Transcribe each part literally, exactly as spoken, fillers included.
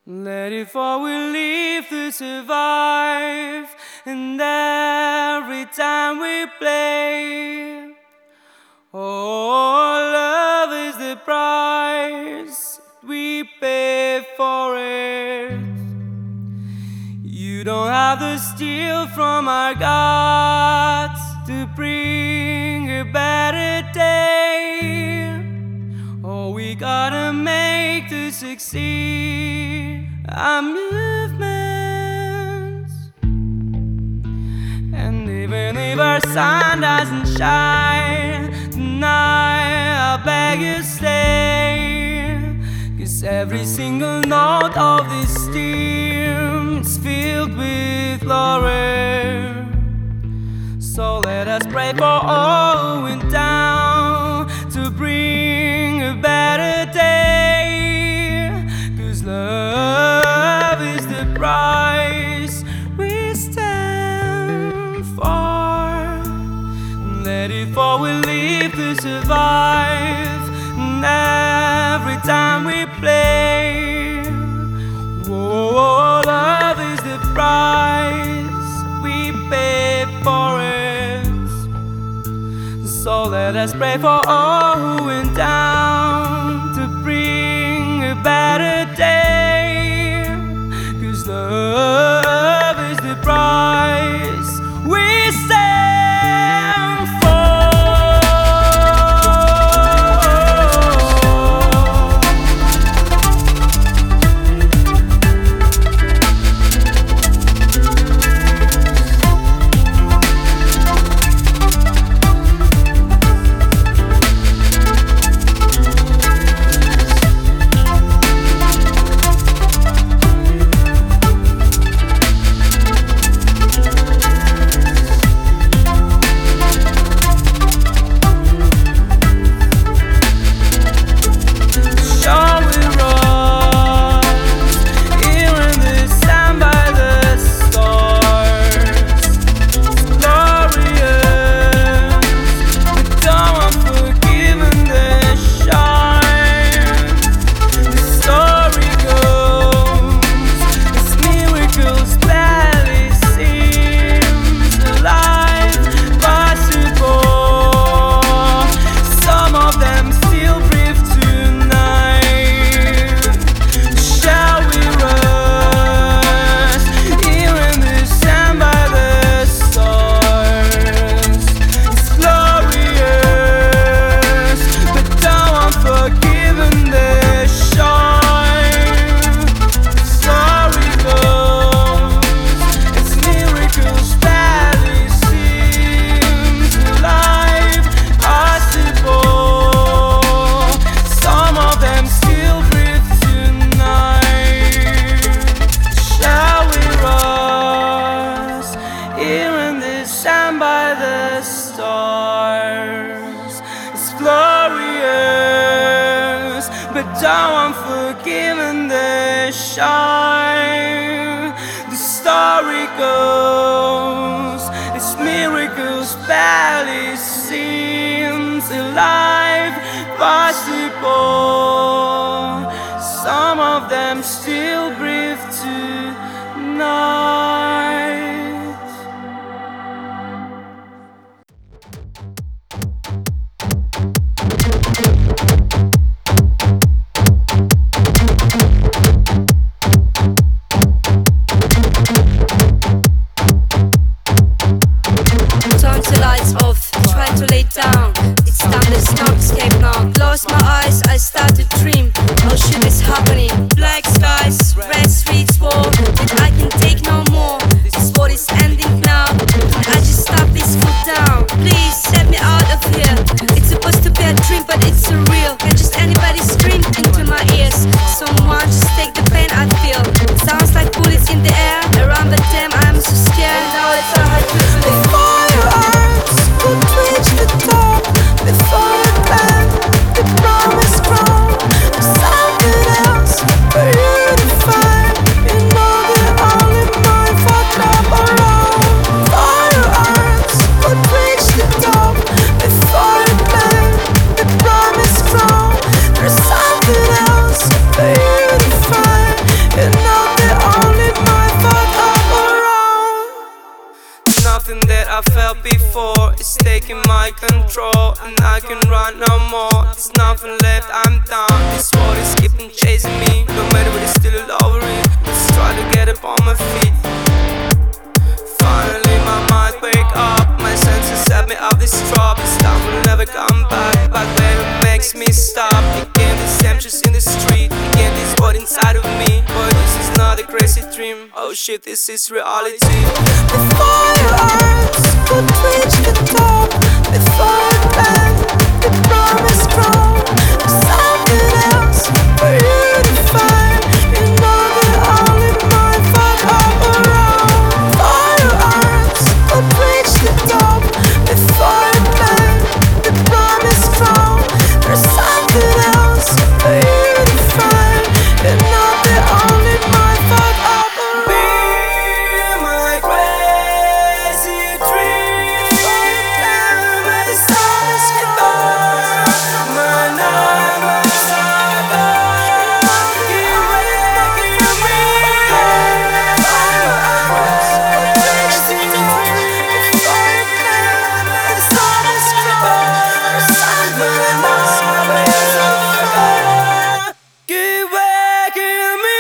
Let it fall, we live to survive. And every time we play, oh, love is the price we pay for it. You don't have to steal from our gods to bring a better day. All we gotta make to succeed our movements. And even if our sun doesn't shine tonight, I beg you stay, 'cause every single note of this steam is filled with glory. So let us pray for all who went down to bring a better day, 'cause love is the price we stand for. Let it fall, we live to survive. And every time we play, oh, love is the price we pay for it. So let us pray for all who went down to bring a better day, 'cause love is the price we stand for. But though I'm forgiven the shine, the story goes, it's miracles barely seems alive, possible. Some of them still breathe tonight. It's time to stop, escape now. Close my eyes, I start to dream. Oh shit is happening. Black skies, red streets, war. And I can take no more. This taking my control, and I can run no more. There's nothing left, I'm down. This world is keeping chasing me. No matter what, it's still over it. Let's try to get up on my feet. Finally my mind wake up, my senses set me up this drop. This time will never come back, back where it makes me stop. Again this emptiness in the street, again this void inside of me. Boy, this is not a crazy dream, oh shit, this is reality. Before your arms could reach the top, before it bent, the promise grown. There's something else for you to find. You know that only my fuck up around. Before your arms could reach the top, before it bent, the promise grown. There's something else for you to find. You know that only my fuck up around. Be my crazy dream, where the sun is gone, my nightmares are gone. Give way, give me my crazy dream, where the sun is gone, my nightmares are gone. Give way, give me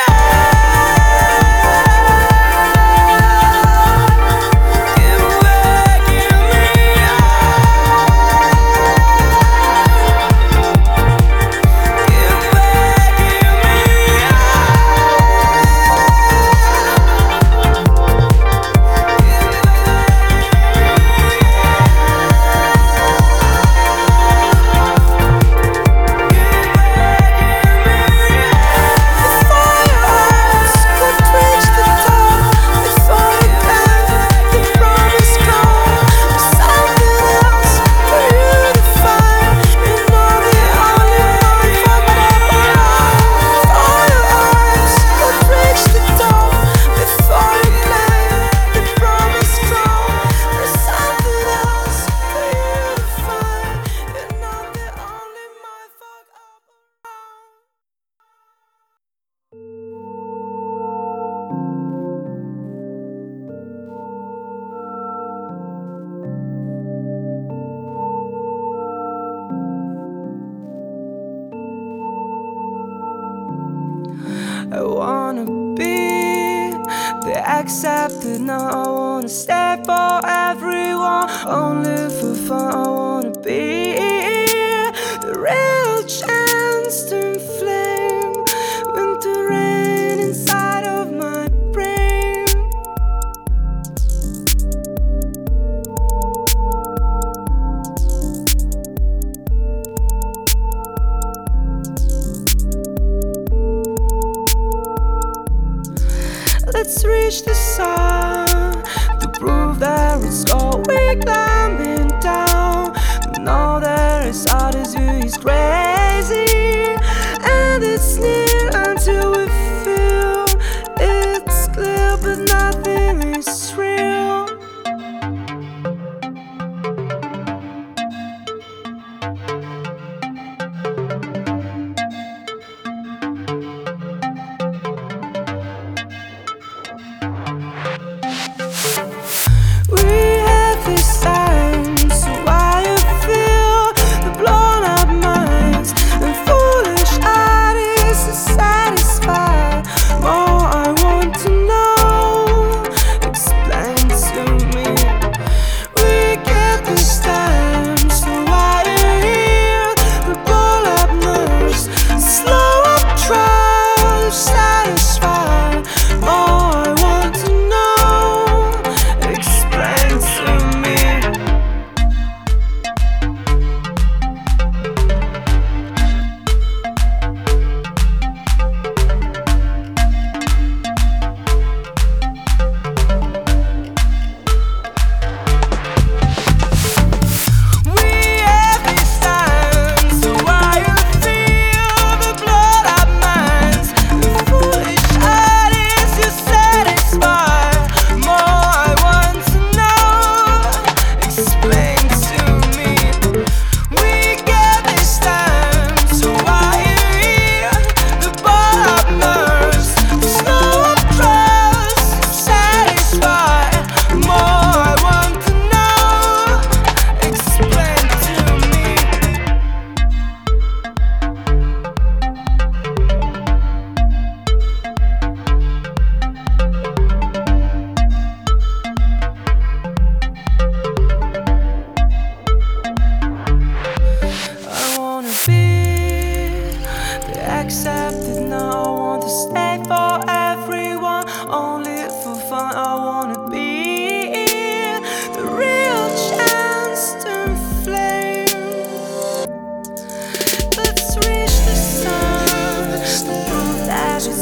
I wanna be the accepted, now I wanna stay for everyone. Only for fun, I wanna be the real chance to inflame winter rain inside of my brain. Let's reach the sun to prove that it's all we're climbing down. But now there is out as you is crazy, and it's near until we feel it's clear, but nothing is real. We have this time, so why you feel the blown up minds and foolish ideas.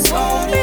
it's gonna be